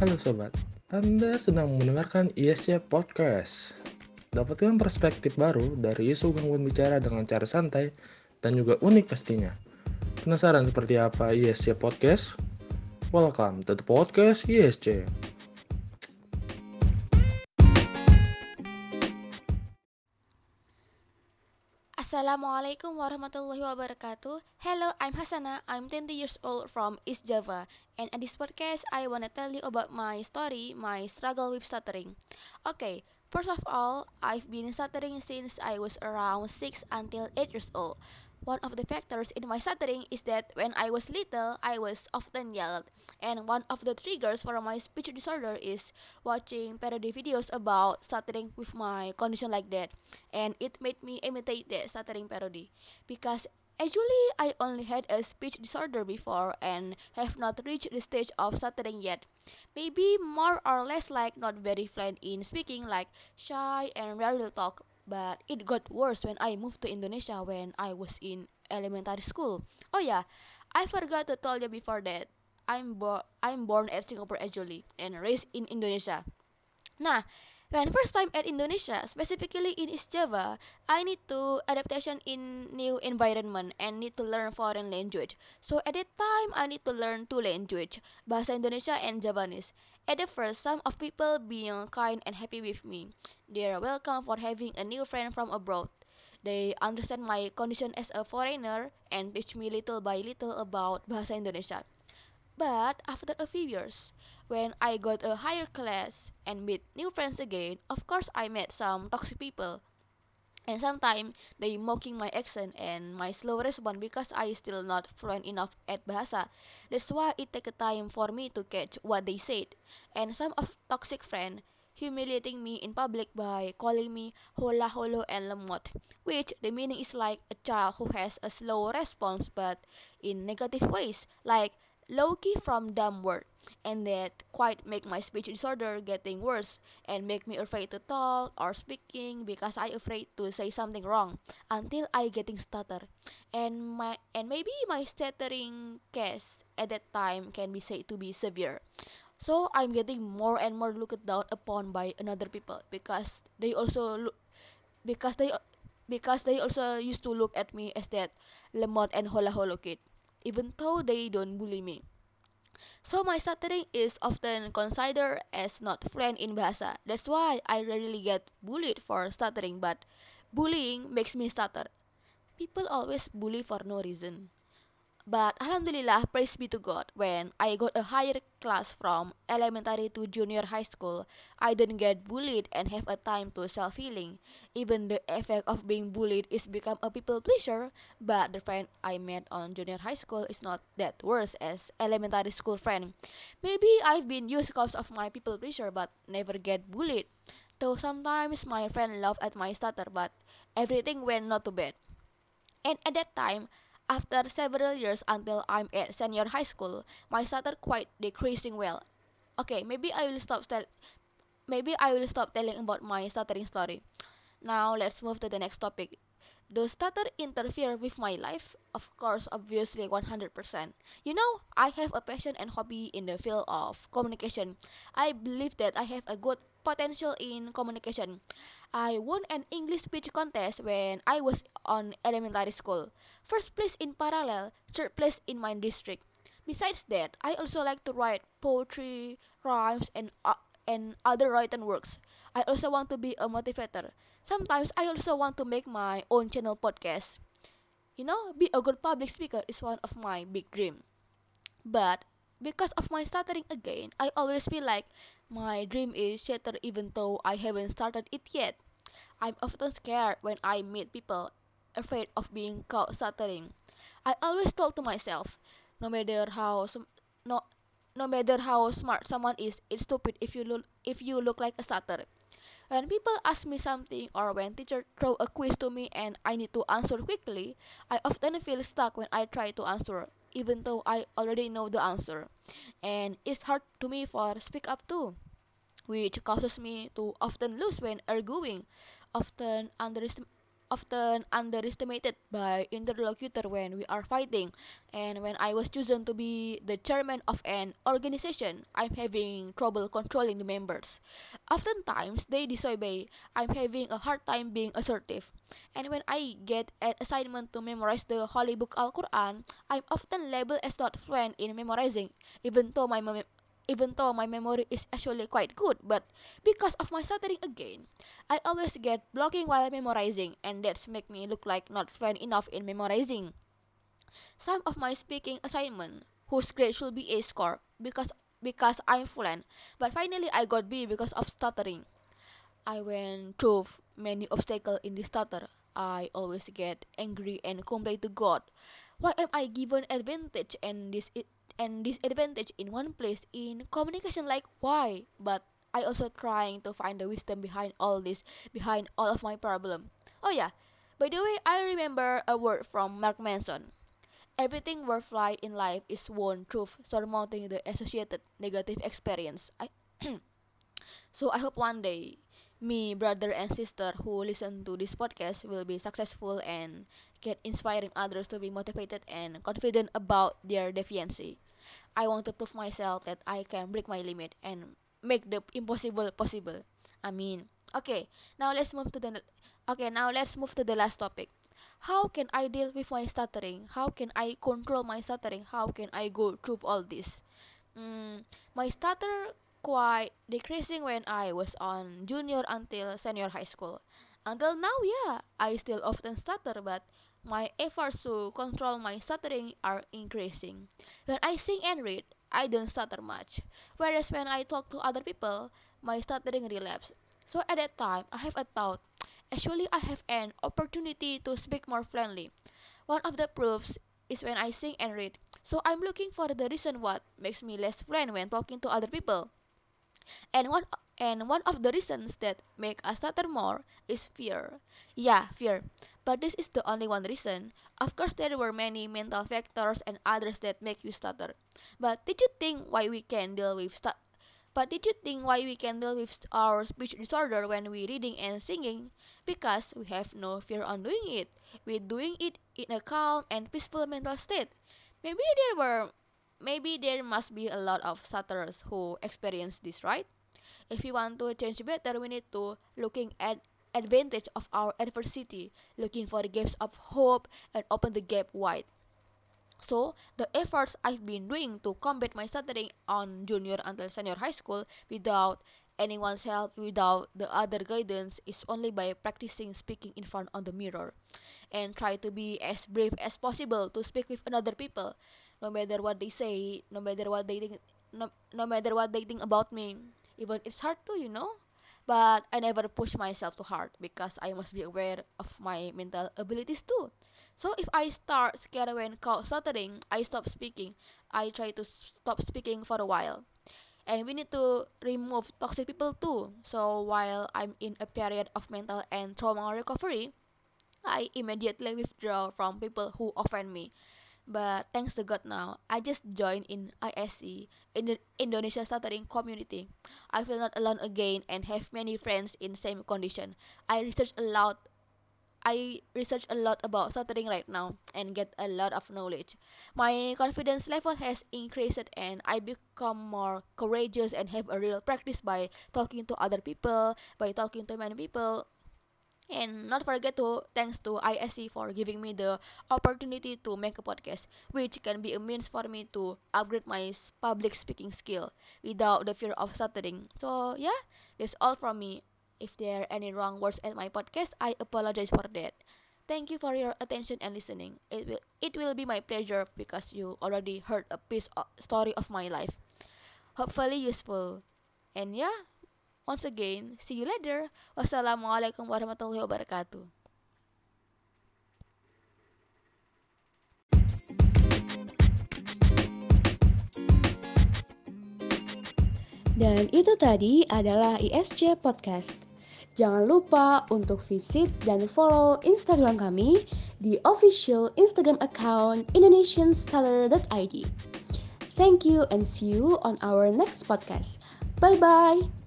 Halo sobat, Anda sedang mendengarkan ISC Podcast. Dapatkan perspektif baru dari isu gangguan bicara dengan cara santai dan juga unik pastinya. Penasaran seperti apa ISC Podcast? Welcome to the podcast ISC. Assalamualaikum warahmatullahi wabarakatuh. Hello, I'm Hasana. I'm 20 years old from East Java. And in this podcast, I wanna tell you about my story, my struggle with stuttering. Okay, first of all, I've been stuttering since I was around 6 until 8 years old. One of the factors in my stuttering is that when I was little, I was often yelled. And one of the triggers for my speech disorder is watching parody videos about stuttering with my condition like that, and it made me imitate the stuttering parody because actually I only had a speech disorder before and have not reached the stage of stuttering yet. Maybe more or less like not very fluent in speaking, like shy and rarely talk. But it got worse when I moved to Indonesia when I was in elementary school. Oh yeah, I forgot to tell you before that I'm born at Singapore actually and raised in Indonesia. Nah, when first time at Indonesia, specifically in East Java, I need to adaptation in new environment and need to learn foreign language. So at that time, I need to learn two language, Bahasa Indonesia and Javanese. At the first, some of people being kind and happy with me. They are welcome for having a new friend from abroad. They understand my condition as a foreigner and teach me little by little about Bahasa Indonesia. But after a few years, when I got a higher class and meet new friends again, of course I met some toxic people. And sometimes they mocking my accent and my slow response because I still not fluent enough at bahasa. That's why it take a time for me to catch what they said. And some of toxic friend humiliating me in public by calling me hola holo and lemot, which the meaning is like a child who has a slow response but in negative ways, like low key from dumb word, and that quite make my speech disorder getting worse and make me afraid to talk or speaking because I afraid to say something wrong until I getting stutter. And maybe my stuttering case at that time can be said to be severe. So I'm getting more and more looked down upon by another people because they because they also used to look at me as that lemot and hola holo kid, even though they don't bully me. So my stuttering is often considered as not fluent in bahasa. That's why I rarely get bullied for stuttering, but bullying makes me stutter. People always bully for no reason. But alhamdulillah, praise be to God, when I got a higher class from elementary to junior high school, I didn't get bullied and have a time to self-healing. Even the effect of being bullied is become a people pleaser, but the friend I met on junior high school is not that worse as elementary school friend. Maybe I've been used because of my people pleaser but never get bullied. Though sometimes my friend laugh at my stutter, but everything went not too bad. And at that time, after several years until I'm at senior high school, my stutter quite decreasing well. Okay, maybe I will stop telling about my stuttering story. Now let's move to the next topic. Does stutter interfere with my life? Of course, obviously 100%. You know, I have a passion and hobby in the field of communication. I believe that I have a good potential in communication. I won an English speech contest when I was on elementary school. First place in parallel, third place in my district. Besides that, I also like to write poetry, rhymes, and other written works. I also want to be a motivator. Sometimes I also want to make my own channel podcast. You know, be a good public speaker is one of my big dream. But because of my stuttering again, I always feel like my dream is shattered even though I haven't started it yet. I'm often scared when I meet people, afraid of being caught stuttering. I always talk to myself, no matter how sm- no no matter how smart someone is, it's stupid if you look like a stutter. When people ask me something or when teacher throw a quiz to me and I need to answer quickly, I often feel stuck when I try to answer, even though I already know the answer. And it's hard to me for speak up too, which causes me to often lose when arguing, often underestimate. often underestimated by interlocutor when we are fighting. And when I was chosen to be the chairman of an organization, I'm having trouble controlling the members. Oftentimes they disobey. I'm having a hard time being assertive. And when I get an assignment to memorize the Holy Book Al-Quran, I'm often labeled as not fluent in memorizing, even though my memory is actually quite good. But because of my stuttering again, I always get blocking while memorizing, and that's make me look like not fluent enough in memorizing. Some of my speaking assignment, whose grade should be A score, because I'm fluent, but finally I got B because of stuttering. I went through many obstacles in this stutter. I always get angry and complain to God. Why am I given advantage and disadvantage in one place in communication? Like why? But I also trying to find the wisdom behind all this, behind all of my problem. Oh yeah, by the way, I remember a word from Mark Manson. Everything worthwhile in life is one truth surmounting the associated negative experience. So I hope one day me, brother and sister who listen to this podcast will be successful and get inspiring others to be motivated and confident about their defiancy. I want to prove myself that I can break my limit and make the impossible possible. I mean, okay, now let's move to the last topic. How can I deal with my stuttering? How can I control my stuttering? How can I go through all this? Mm, my stutter quite decreasing when I was on junior until senior high school. Until now, yeah, I still often stutter, but my efforts to control my stuttering are increasing. When I sing and read, I don't stutter much, whereas when I talk to other people, my stuttering relapse. So at that time, I have a thought. Actually, I have an opportunity to speak more fluently. One of the proofs is when I sing and read. So I'm looking for the reason what makes me less fluent when talking to other people. And one of the reasons that make us stutter more is fear. Yeah, fear. But this is the only one reason. Of course there were many mental factors and others that make you stutter. But did you think why we can deal with stu- but did you think why we can deal with our speech disorder when we reading and singing? Because we have no fear on doing it. We're doing it in a calm and peaceful mental state. Maybe there were maybe there must be a lot of stutterers who experience this, right? If we want to change better, we need to looking at advantage of our adversity, looking for the gaps of hope and open the gap wide. So the efforts I've been doing to combat my stuttering on junior until senior high school without anyone's help, without the other guidance, is only by practicing speaking in front of the mirror and try to be as brave as possible to speak with another people, no matter what they say, no matter what they think about me. Even it's hard to, but I never push myself too hard because I must be aware of my mental abilities too. So if I start scared when caught stuttering, I stop speaking. I try to stop speaking for a while. And we need to remove toxic people too. So while I'm in a period of mental and trauma recovery, I immediately withdraw from people who offend me. But thanks to God now, I just joined in ISC, in the Indonesia Stuttering Community. I feel not alone again and have many friends in same condition. I research a lot. I research a lot about stuttering right now and get a lot of knowledge. My confidence level has increased and I become more courageous and have a real practice by talking to other people, by talking to many people, and not forget to thanks to ISC for giving me the opportunity to make a podcast, which can be a means for me to upgrade my public speaking skill without the fear of stuttering. So yeah, that's all from me. If there are any wrong words at my podcast, I apologize for that. Thank you for your attention and listening. It will be my pleasure because you already heard a piece of story of my life. Hopefully useful. And yeah, once again, see you later. Wassalamualaikum warahmatullahi wabarakatuh. Dan itu tadi adalah ISJ Podcast. Jangan lupa untuk visit dan follow Instagram kami di official Instagram account indonesianstutter.id. Thank you and see you on our next podcast. Bye-bye.